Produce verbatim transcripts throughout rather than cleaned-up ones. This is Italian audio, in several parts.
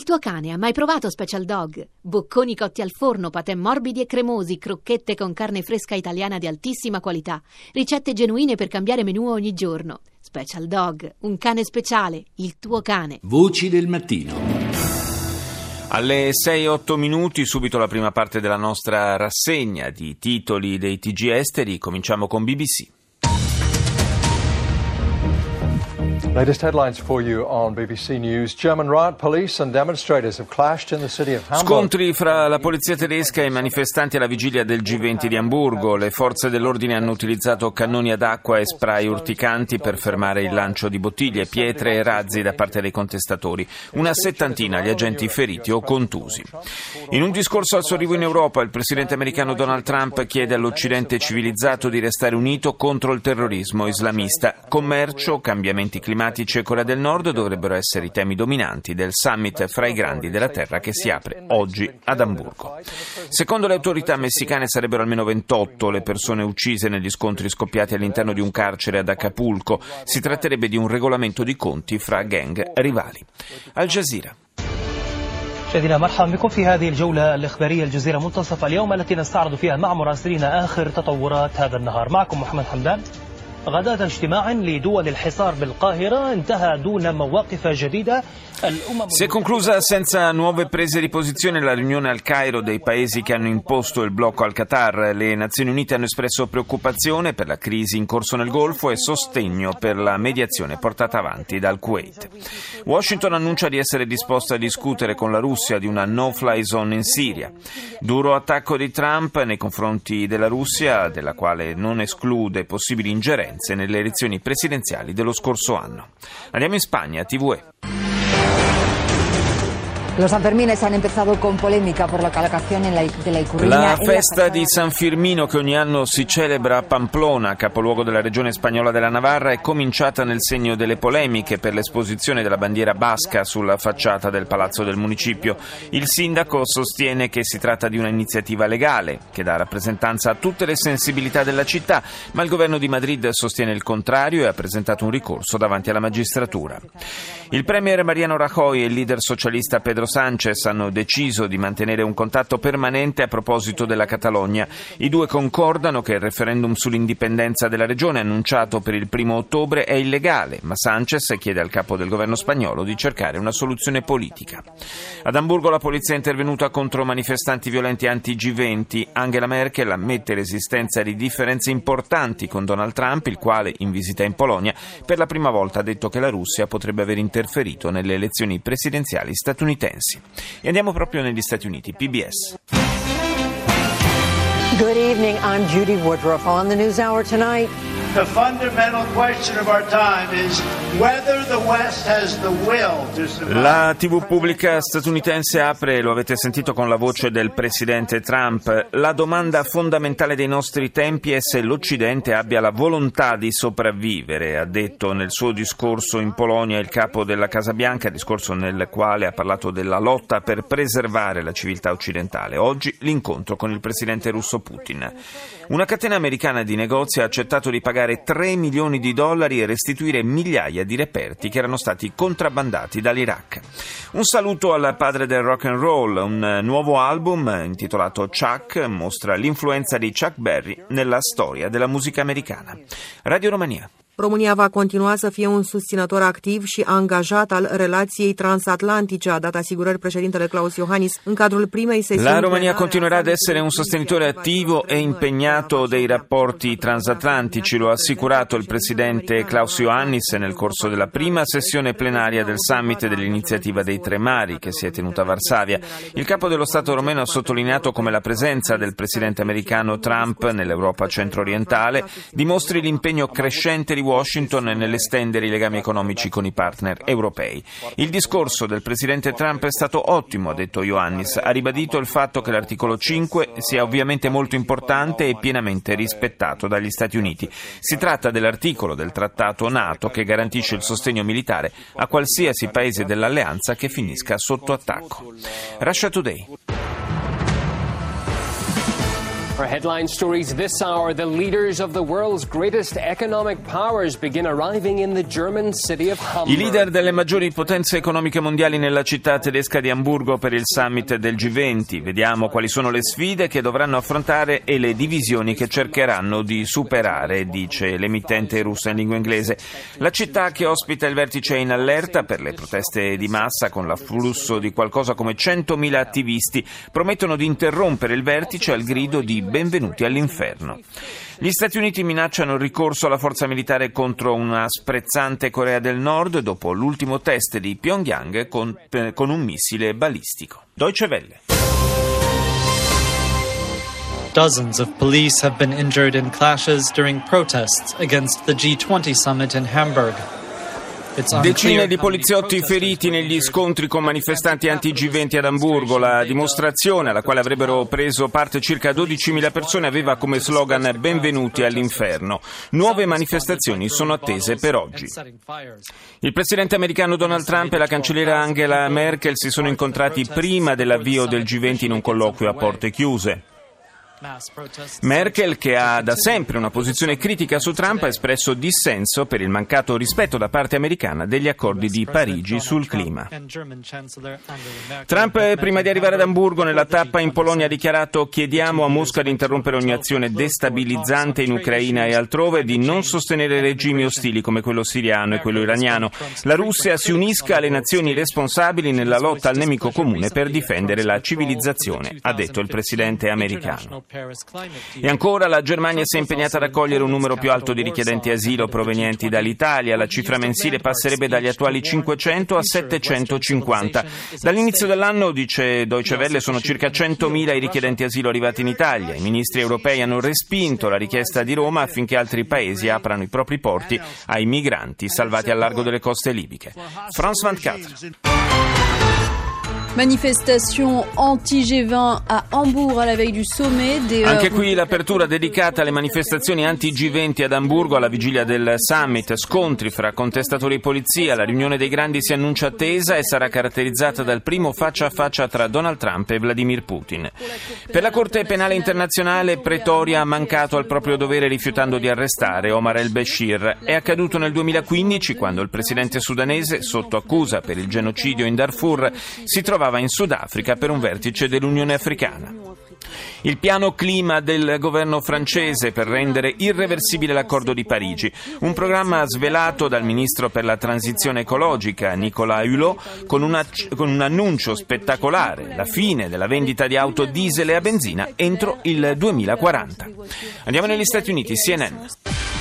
tuo cane ha mai provato Special Dog? Bocconi cotti al forno, patè morbidi e cremosi, crocchette con carne fresca italiana di altissima qualità, ricette genuine per cambiare menù ogni giorno. Special Dog, un cane speciale, il tuo cane. Voci del mattino. Alle sei e otto minuti, subito la prima parte della nostra rassegna di titoli dei T G esteri. Cominciamo con B B C. Latest headlines for you on B B C News. German riot police and demonstrators have clashed in the city of Hamburg. Scontri fra la polizia tedesca e i manifestanti alla vigilia del G venti di Amburgo. Le forze dell'ordine hanno utilizzato cannoni ad acqua e spray urticanti per fermare il lancio di bottiglie, pietre e razzi da parte dei contestatori. Una settantina gli agenti feriti o contusi. In un discorso al suo arrivo in Europa, il presidente americano Donald Trump chiede all'Occidente civilizzato di restare unito contro il terrorismo islamista. Commercio, cambiamenti climatici e Corea del Nord dovrebbero essere i temi dominanti del summit fra i grandi della terra che si apre oggi ad Amburgo. Secondo le autorità messicane sarebbero almeno ventotto le persone uccise negli scontri scoppiati all'interno di un carcere ad Acapulco. Si tratterebbe di un regolamento di conti fra gang rivali. Al Jazeera. مشاهدينا مرحبا بكم في هذه الجولة الإخبارية الجزيرة منتصف اليوم التي نستعرض فيها مع مراسلين آخر تطورات هذا النهار. معكم محمد حمدان. غداة اجتماع لدول الحصار بالقاهرة انتهى دون مواقف جديدة. Si è conclusa senza nuove prese di posizione la riunione al Cairo dei paesi che hanno imposto il blocco al Qatar. Le Nazioni Unite hanno espresso preoccupazione per la crisi in corso nel Golfo e sostegno per la mediazione portata avanti dal Kuwait. Washington annuncia di essere disposta a discutere con la Russia di una no-fly zone in Siria. Duro attacco di Trump nei confronti della Russia, della quale non esclude possibili ingerenze nelle elezioni presidenziali dello scorso anno. Andiamo in Spagna, T V E. Los Sanfermines han empezado con polémica por la colocación en la, de la Icurriña. La festa di San Firmino, che ogni anno si celebra a Pamplona, capoluogo della regione spagnola della Navarra, è cominciata nel segno delle polemiche per l'esposizione della bandiera basca sulla facciata del palazzo del municipio. Il sindaco sostiene che si tratta di un'iniziativa legale che dà rappresentanza a tutte le sensibilità della città, ma il governo di Madrid sostiene il contrario e ha presentato un ricorso davanti alla magistratura. Il premier Mariano Rajoy e il leader socialista Pedro Sánchez hanno deciso di mantenere un contatto permanente a proposito della Catalogna. I due concordano che il referendum sull'indipendenza della regione annunciato per il primo ottobre è illegale, ma Sánchez chiede al capo del governo spagnolo di cercare una soluzione politica. Ad Amburgo la polizia è intervenuta contro manifestanti violenti anti-G venti. Angela Merkel ammette l'esistenza di differenze importanti con Donald Trump, il quale, in visita in Polonia, per la prima volta ha detto che la Russia potrebbe aver interferito nelle elezioni presidenziali statunitensi. E andiamo proprio negli Stati Uniti. P B S. Good evening, I'm Judy Woodruff on the NewsHour tonight. The fundamental question of our time is whether the West has the will to survive. La tivù pubblica statunitense apre, lo avete sentito con la voce del presidente Trump, la domanda fondamentale dei nostri tempi è se l'Occidente abbia la volontà di sopravvivere, ha detto nel suo discorso in Polonia il capo della Casa Bianca, discorso nel quale ha parlato della lotta per preservare la civiltà occidentale. Oggi l'incontro con il presidente russo Putin. Una catena americana di negozi ha accettato di pagare tre milioni di dollari e restituire migliaia di reperti che erano stati contrabbandati dall'Iraq. Un saluto al padre del rock and roll. Un nuovo album intitolato Chuck mostra l'influenza di Chuck Berry nella storia della musica americana. Radio Romania. România va continua să fie un susținător activ și angajat al relației transatlantice, a dat asigurări președintele Klaus Iohannis în cadrul primei sesiuni. La Romania continuerà ad essere un sostenitore attivo e impegnato dei rapporti transatlantici, lo ha assicurato il presidente Klaus Iohannis nel corso della prima sessione plenaria del summit dell'iniziativa dei Tre Mari che si è tenuta a Varsavia. Il capo dello Stato romeno ha sottolineato come la presenza del presidente americano Trump nell'Europa centro-orientale dimostri l'impegno crescente di Washington nell'estendere i legami economici con i partner europei. Il discorso del presidente Trump è stato ottimo, ha detto Iohannis. Ha ribadito il fatto che l'articolo cinque sia ovviamente molto importante e pienamente rispettato dagli Stati Uniti. Si tratta dell'articolo del trattato NATO che garantisce il sostegno militare a qualsiasi paese dell'alleanza che finisca sotto attacco. Russia Today. For headline stories this hour, the leaders of the world's greatest economic powers begin arriving in the German city of Hamburg. I leader delle maggiori potenze economiche mondiali nella città tedesca di Amburgo per il summit del G venti. Vediamo quali sono le sfide che dovranno affrontare e le divisioni che cercheranno di superare, dice l'emittente russa in lingua inglese. La città che ospita il vertice è in allerta per le proteste di massa, con l'afflusso di qualcosa come centomila attivisti. Promettono di interrompere il vertice al grido di benvenuti all'inferno. Gli Stati Uniti minacciano il ricorso alla forza militare contro una sprezzante Corea del Nord dopo l'ultimo test di Pyongyang con, eh, con un missile balistico. Deutsche Welle. Dozens of police have been injured in clashes during protests against the G twenty summit in Hamburg. Decine di poliziotti feriti negli scontri con manifestanti anti-G venti ad Amburgo. La dimostrazione, alla quale avrebbero preso parte circa dodicimila persone, aveva come slogan "Benvenuti all'inferno". Nuove manifestazioni sono attese per oggi. Il presidente americano Donald Trump e la cancelliera Angela Merkel si sono incontrati prima dell'avvio del G venti in un colloquio a porte chiuse. Merkel, che ha da sempre una posizione critica su Trump, ha espresso dissenso per il mancato rispetto da parte americana degli accordi di Parigi sul clima. Trump, prima di arrivare ad Amburgo, nella tappa in Polonia ha dichiarato: chiediamo a Mosca di interrompere ogni azione destabilizzante in Ucraina e altrove, di non sostenere regimi ostili come quello siriano e quello iraniano. La Russia si unisca alle nazioni responsabili nella lotta al nemico comune per difendere la civilizzazione, ha detto il presidente americano. E ancora, la Germania si è impegnata ad accogliere un numero più alto di richiedenti asilo provenienti dall'Italia. La cifra mensile passerebbe dagli attuali cinquecento a settecentocinquanta. Dall'inizio dell'anno, dice Deutsche Welle, sono circa centomila i richiedenti asilo arrivati in Italia. I ministri europei hanno respinto la richiesta di Roma affinché altri paesi aprano i propri porti ai migranti salvati al largo delle coste libiche. France ventiquattro. Manifestation anti-G venti a Hamburg alla veille du sommet. Des... Anche qui l'apertura dedicata alle manifestazioni anti-G venti ad Amburgo alla vigilia del summit. Scontri fra contestatori e polizia. La riunione dei grandi si annuncia attesa e sarà caratterizzata dal primo faccia a faccia tra Donald Trump e Vladimir Putin. Per la Corte Penale Internazionale, Pretoria ha mancato al proprio dovere rifiutando di arrestare Omar el-Bashir. È accaduto nel duemilaquindici, quando il presidente sudanese, sotto accusa per il genocidio in Darfur, si trovava in Sudafrica per un vertice dell'Unione Africana. Il piano clima del governo francese per rendere irreversibile l'accordo di Parigi, un programma svelato dal ministro per la transizione ecologica Nicolas Hulot con, una, con un annuncio spettacolare: la fine della vendita di auto diesel e a benzina entro il duemilaquaranta. Andiamo negli Stati Uniti, C N N.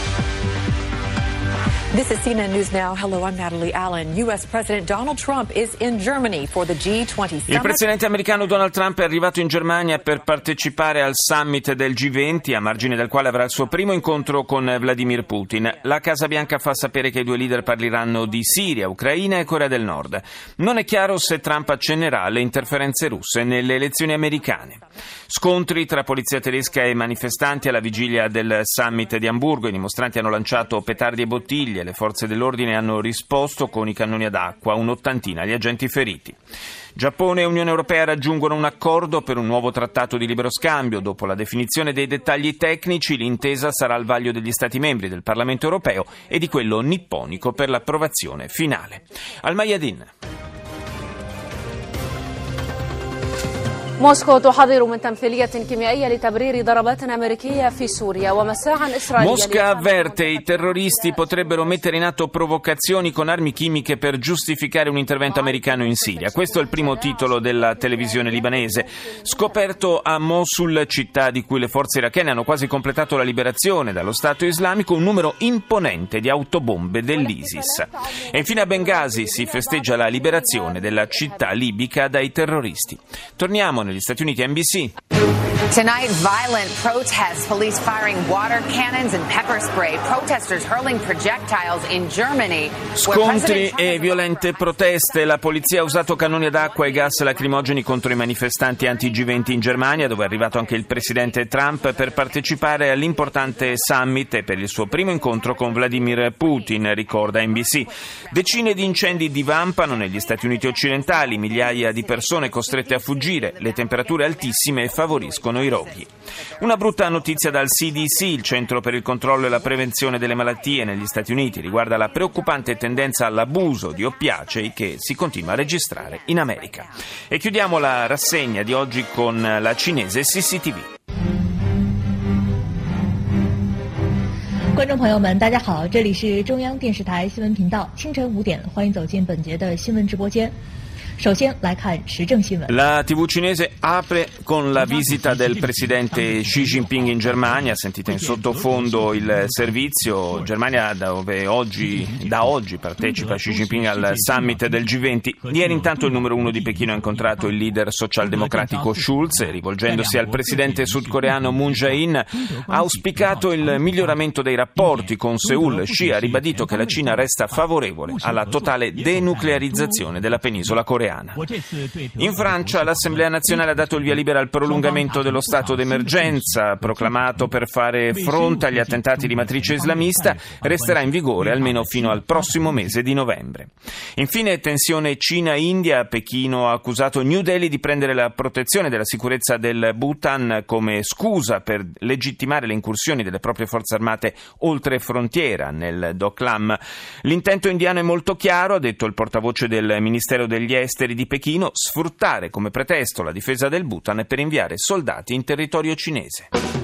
This is C N N News Now. Hello, I'm Natalie Allen. U S President Donald Trump is in Germany for the G twenty summit. Il presidente americano Donald Trump è arrivato in Germania per partecipare al summit del G venti, a margine del quale avrà il suo primo incontro con Vladimir Putin. La Casa Bianca fa sapere che i due leader parleranno di Siria, Ucraina e Corea del Nord. Non è chiaro se Trump accennerà alle interferenze russe nelle elezioni americane. Scontri tra polizia tedesca e manifestanti alla vigilia del summit di Amburgo. I dimostranti hanno lanciato petardi e bottiglie. Le forze dell'ordine hanno risposto con i cannoni ad acqua, un'ottantina gli agenti feriti. Giappone e Unione Europea raggiungono un accordo per un nuovo trattato di libero scambio. Dopo la definizione dei dettagli tecnici, l'intesa sarà al vaglio degli Stati membri, del Parlamento europeo e di quello nipponico per l'approvazione finale. Al Mayadin. موسكو تحذر من تمثيلية كيميائية لتبرير ضربات أمريكية في سوريا ومساعٍ إسرائيلية. Mosca avverte: i terroristi potrebbero mettere in atto provocazioni con armi chimiche per giustificare un intervento americano in Siria. Questo è il primo titolo della televisione libanese. Scoperto a Mosul, città di cui le forze irachene hanno quasi completato la liberazione dallo Stato islamico, un numero imponente di autobombe dell'ISIS. E infine a Bengasi si festeggia la liberazione della città libica dai terroristi. Torniamo negli Stati Uniti, N B C. Tonight, violent protests, police firing water cannons and pepper spray, protesters hurling projectiles in Germany. Scontri e violente proteste. La polizia ha usato cannoni ad acqua e gas lacrimogeni contro i manifestanti anti-G venti in Germania, dove è arrivato anche il presidente Trump per partecipare all'importante summit e per il suo primo incontro con Vladimir Putin, ricorda N B C. Decine di incendi divampano negli Stati Uniti occidentali, migliaia di persone costrette a fuggire, le temperature altissime favoriscono diminuiscono i roghi. Una brutta notizia dal C D C, il Centro per il controllo e la prevenzione delle malattie negli Stati Uniti, riguarda la preoccupante tendenza all'abuso di oppiacei che si continua a registrare in America. E chiudiamo la rassegna di oggi con la cinese C C T V. 观众朋友们，大家好，这里是中央电视台新闻频道，清晨五点，欢迎走进本节的新闻直播间。 La tivù cinese apre con la visita del presidente Xi Jinping in Germania. Sentite in sottofondo il servizio. Germania, dove oggi, da oggi partecipa Xi Jinping al summit del G venti. Ieri intanto il numero uno di Pechino ha incontrato il leader socialdemocratico Schulz e, rivolgendosi al presidente sudcoreano Moon Jae-in, ha auspicato il miglioramento dei rapporti con Seul. Xi ha ribadito che la Cina resta favorevole alla totale denuclearizzazione della penisola coreana. In Francia l'Assemblea nazionale ha dato il via libera al prolungamento dello stato d'emergenza, proclamato per fare fronte agli attentati di matrice islamista, resterà in vigore almeno fino al prossimo mese di novembre. Infine, tensione Cina-India. Pechino ha accusato New Delhi di prendere la protezione della sicurezza del Bhutan come scusa per legittimare le incursioni delle proprie forze armate oltre frontiera nel Doklam. L'intento indiano è molto chiaro, ha detto il portavoce del Ministero degli Esteri di Pechino, sfruttare come pretesto la difesa del Bhutan per inviare soldati in territorio cinese.